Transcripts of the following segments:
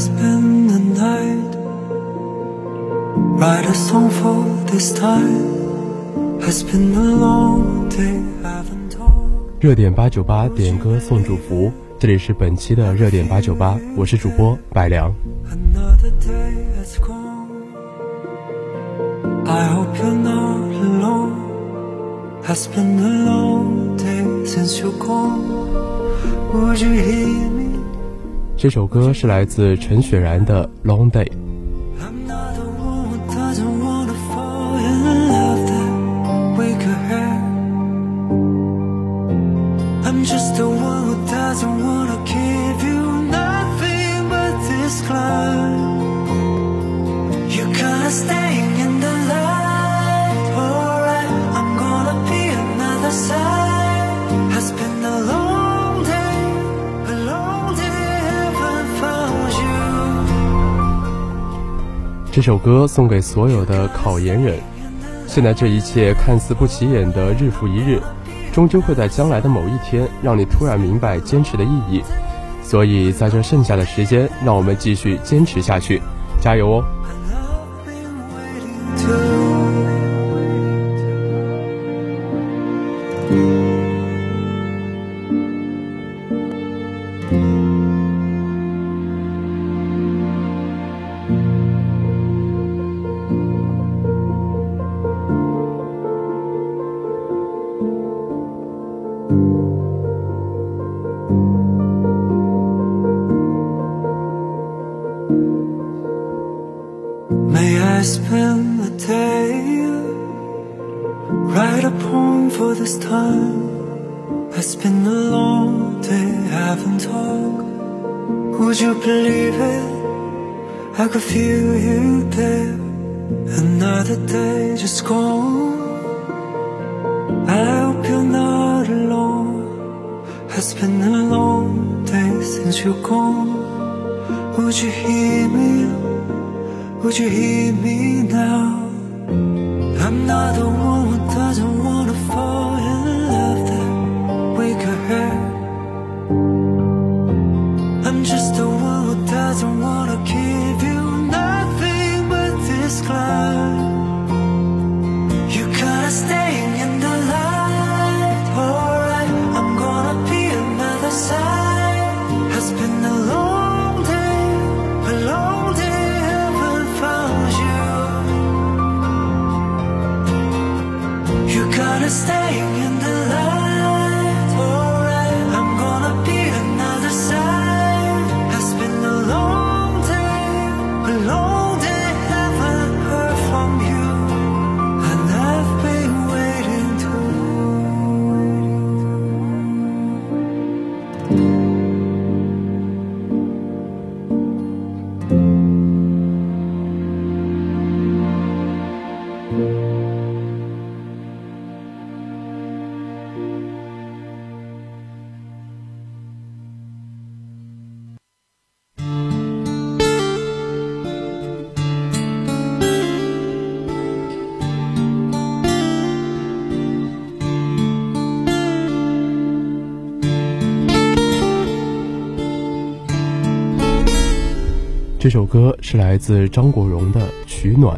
spend the night, write a song for this time. Has been a long day, haven't told. 热点898点歌送祝福，这里是本期的热点898，我是主播百良。 Another day has gone. I hope you're not alone. Has been a long day since you're gone. Would you hear me? 这首歌是来自陈雪然的 Long Day。 I'm not the one who doesn't wanna fall in love that we could have. I'm just the one who doesn't wanna give you nothing but this climb. You're kinda staying in the light, alright. I'm gonna be another side. Has been a long day, a long day, haven't found you. 这首歌送给所有的考研人。现在这一切看似不起眼的日复一日，终究会在将来的某一天让你突然明白坚持的意义。所以在这剩下的时间，让我们继续坚持下去，加油哦！ May I spend the day, write a poem for this time. It's been a long day, haven't talked. Would you believe it? I could feel you there. Another day just gone. I hope you're not alone. It's been a long day since you're gone. Would you hear me? Would you hear me now? I'm not the one who doesn't wanna fall in love that we could have. I'm just the one who doesn't wanna give you nothing but this climb. You're kinda staying in the light, alright. I'm gonna be another side. Has been a long day, a long day. Kinda staying in the light, alright. I'm gonna be another side. Has been a long day, haven't heard from you, and I've been waiting to. 这首歌是来自张国荣的《取暖》。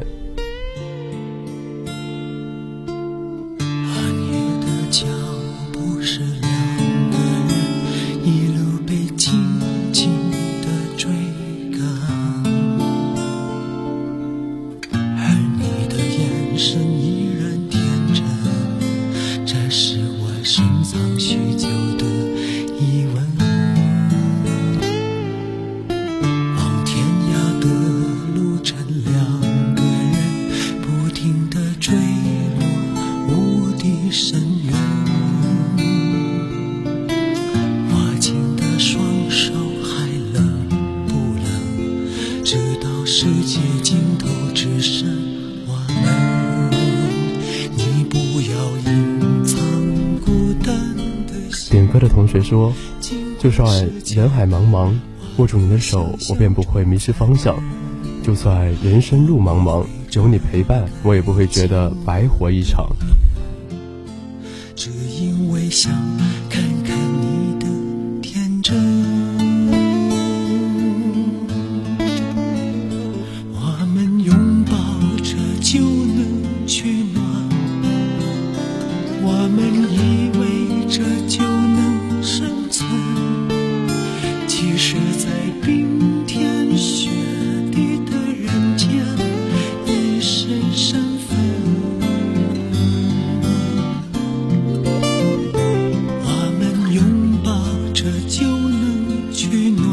点歌的同学说，就算人海茫茫，握住你的手，我便不会迷失方向；就算人生路茫茫，有你陪伴，我也不会觉得白活一场。 只因为想看看你的天真。 这就能取暖，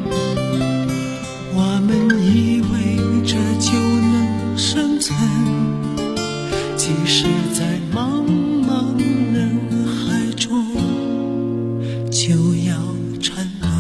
我们以为这就能生存，即使在茫茫人海中就要沉沦。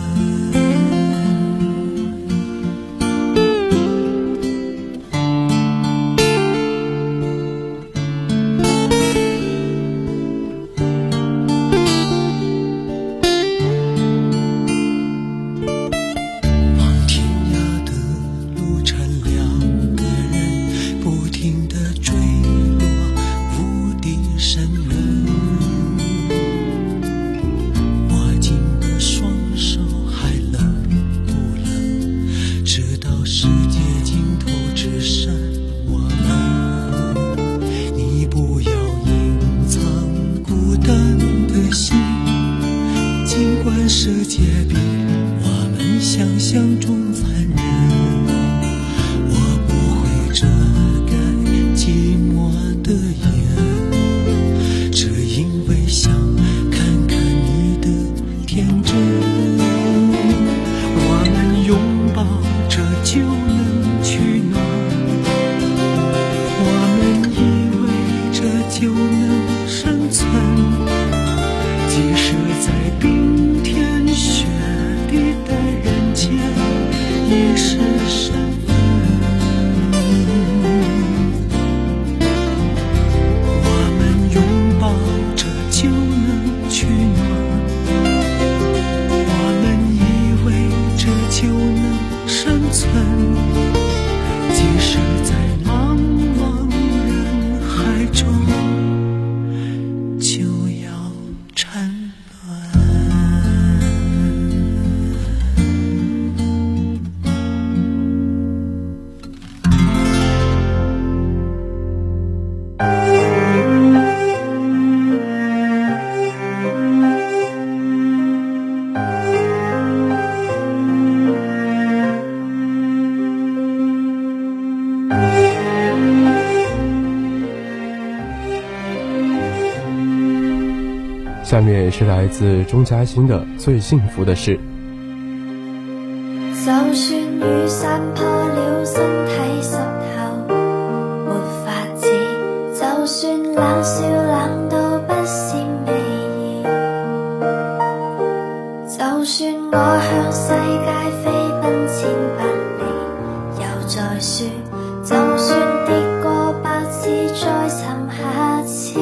世界比我们想象中残忍，我不会遮盖寂寞的眼，只因为想看看你的天真。我们拥抱着就能取暖，我们以为这就能生存，即使在冰天雪地的人间也是身份。我们拥抱着就能取暖，我们以为这就能生存，即使在茫茫人海中就要沉沦。 下面是来自钟嘉欣的《最幸福的事》。 就算雨伞破了，身體濕透沒法子，就算冷笑冷到不是美意，就算我向世界飛奔千百里，又再說，就算跌過百次再沉下次，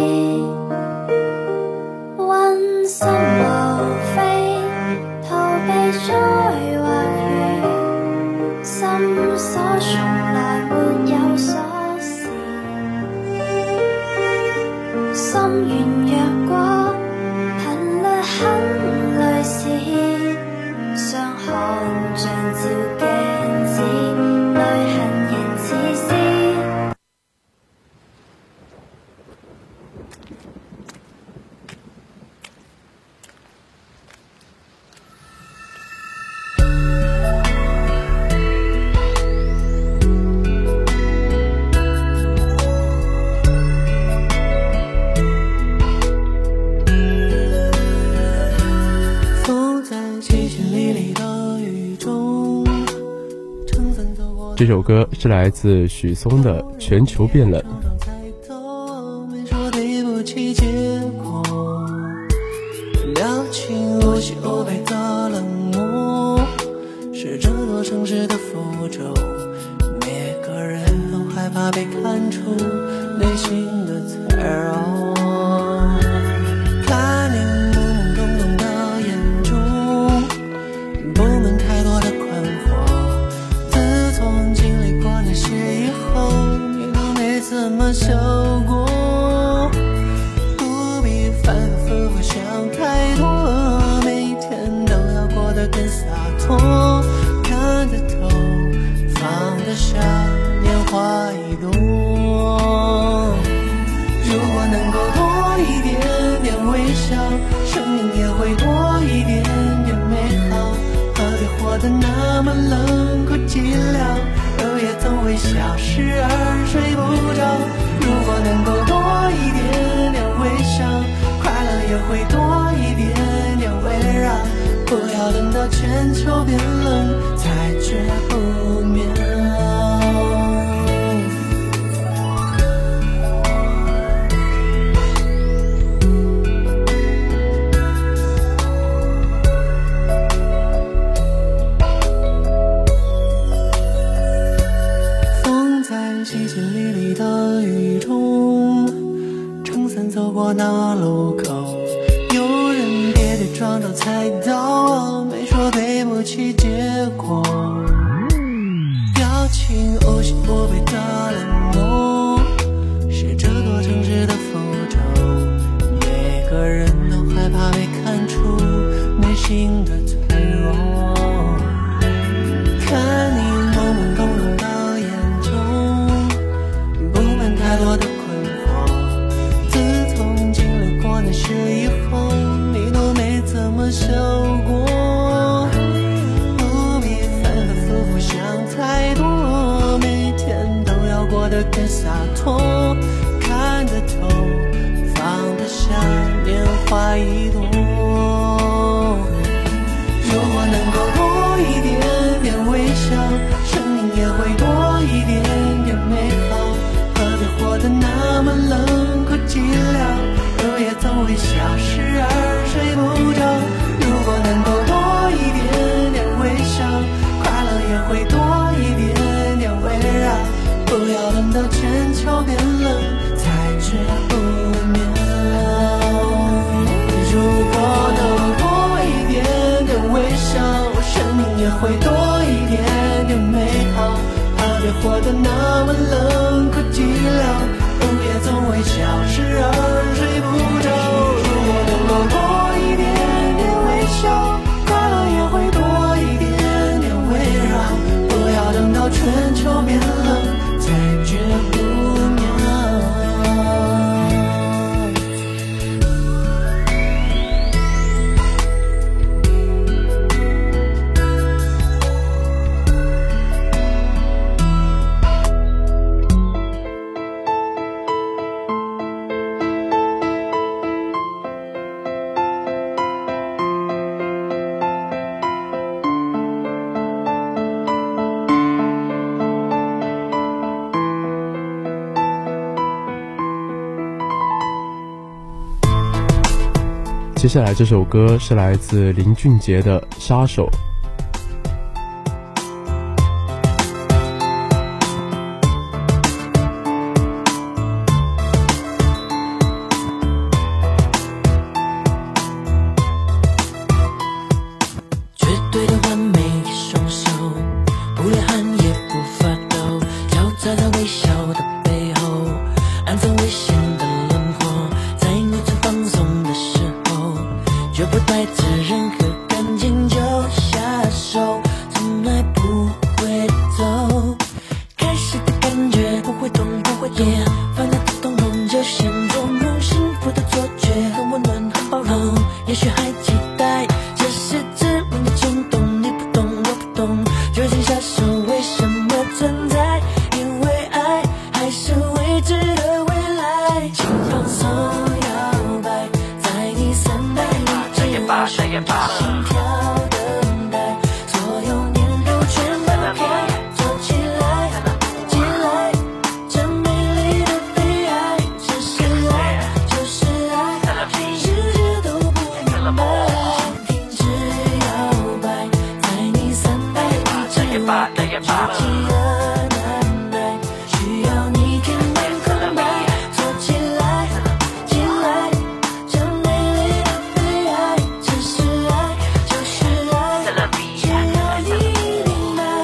溫心無非逃避災或雨，心所從來沒有鎖匙，心軟弱過頻率很類似，傷看像照鏡子，淚痕仍似絲。 这首歌是来自许嵩的《全球变冷》。 了清无喜无悲的冷漠，是这座城市的符咒，每个人都害怕被看出内心的脆弱。看你懵懵懂懂的眼中布满太多的困惑，自从经历过那些以后，你都没怎么笑过，不必反反复复想太多，每一天都要过得更洒脱，看得透，放得下，年华已多。如果能够多一点点微笑，生命也会多一点点美好，何必活得那么冷酷寂寥，日夜总会消失而睡不着。如果能够多一点点微笑，快乐也会多一点点围绕。 双都猜到，没说对不起结果，表情无心无肺的冷漠，是这座城市的符咒，每个人都害怕被看出内心的脆弱，看你懵懵懂懂的眼中布满太多的困惑，自从经历过那事以后，你都没怎么想过，不必反反复复想太多，每天都要过得更洒脱，看得透，放得下，年华一朵。如果能够多一点点微笑，生命也会多一点点美好，何必活得那么冷酷寂寥，日夜总会消失而睡不着。如果能够多一点点微笑，快乐也会多一点点围绕，不要等到全球变冷才觉不妙。如果能多一点点微笑，生命也会多一点点美好，何必活得那么冷酷寂寥，午夜总会消失而睡不着。如果能够多一点点微笑，快乐也会多一点点围绕，不要等到全球变冷才觉不妙。 接下来这首歌是来自林俊杰的《杀手》。 绝对的完美的双手，不流汗也不发抖，交杂在微笑的背后，暗藏危险的轮廓，在你最放松的时候，绝不带着任何感情就下手，从来不会走。开始的感觉不会痛不会痛，烦恼的痛痛就先做梦，幸福的错觉很温暖很包容，也许还期待这是致命的冲动，你不懂我不懂，究竟杀手为什么存在？因为爱还是未知的未来，请放松摇摆，在你三百米之外，心跳等待，所有念头全放开，做起来，起来，这美丽的悲哀，这是爱，就是爱，全世界都不明白，请停止摇摆，在你三百米之外，做起了难耐，需要你填满空白，做起来，起来，这美丽的悲哀，这是爱，就是爱，只要你明白。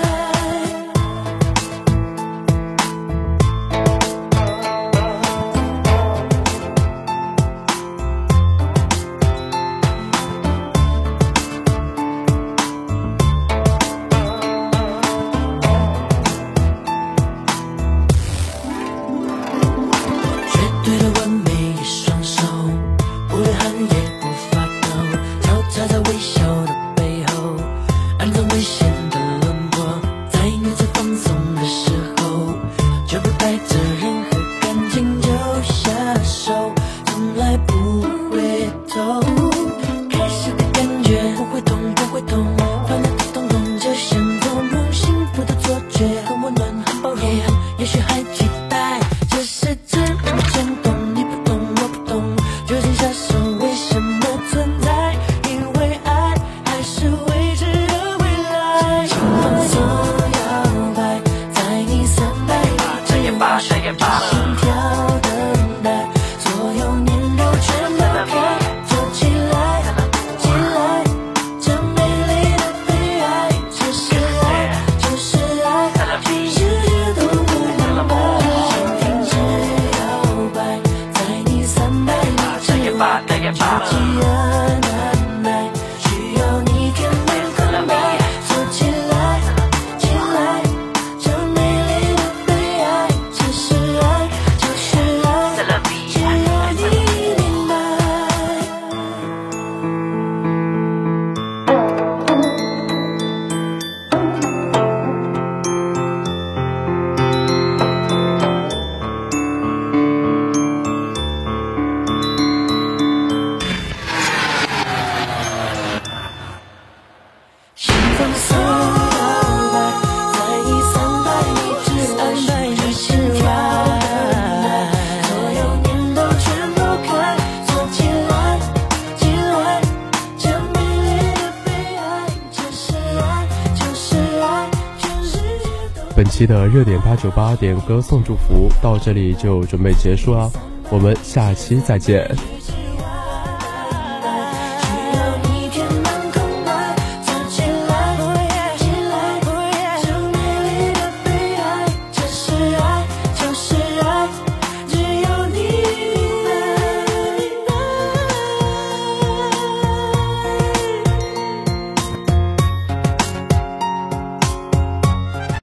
绝对的完美的双手，不流汗也不发抖，交叉在微笑的背后，暗藏危险的轮廓，在你最放松的时候，绝不带着任何感情就下手，从来不会走。开始的感觉不会痛不会痛，烦恼的痛痛就先做梦，幸福的错觉很温暖很包容，也许还期待这是致命的冲动，你不懂我不懂，究竟杀手为什么存在？因为爱本期的热点898点歌送祝福到这里就准备结束了，我们下期再见。